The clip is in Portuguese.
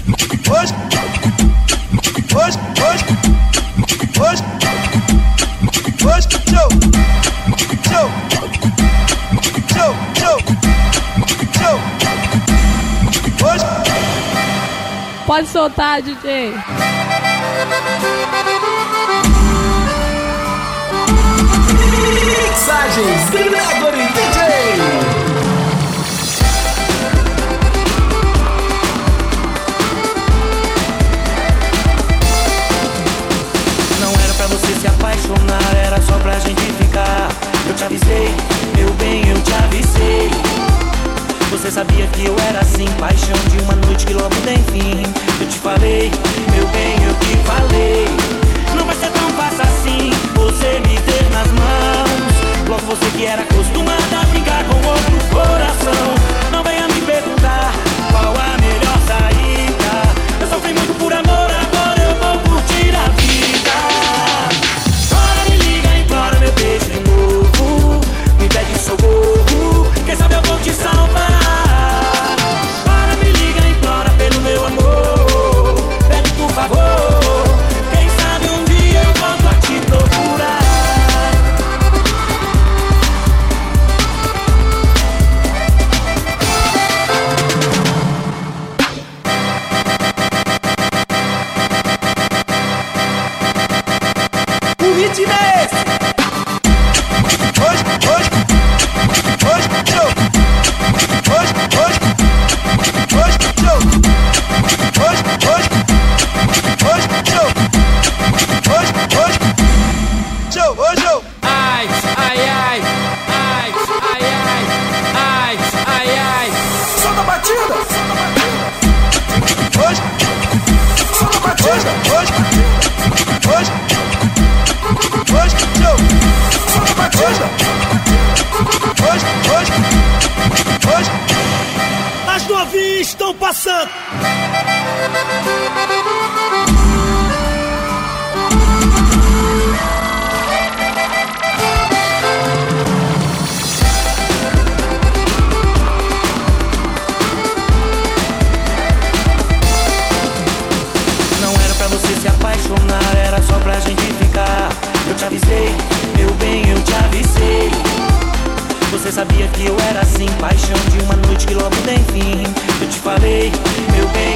Pode soltar, DJ. Mixagens Gregory DJ. Não era pra você se apaixonar, era só pra gente ficar. Eu te avisei, meu bem, eu te avisei. Você sabia que eu era assim, paixão de uma noite que logo tem fim. Eu te falei, meu bem, eu te falei. Não vai ser tão fácil assim, você me ter nas mãos. Logo você que era acostumada a brincar com outro coração. Não venha me perguntar qual a melhor saída. Eu sofri muito por amor, agora eu vou curtir a vida. Chora, me liga, implora meu beijo de novo. Me pede socorro, quem sabe eu vou te salvar. Para, me liga, implora pelo meu amor. Pede por favor, quem sabe um dia eu volto a te procurar. O ritmo é esse. As novinhas estão passando. Não era pra você se apaixonar, era só pra gente ficar. Eu te avisei, meu bem, eu te avisei. Você sabia que eu era assim, paixão de uma noite que logo tem fim. Eu te falei, meu bem,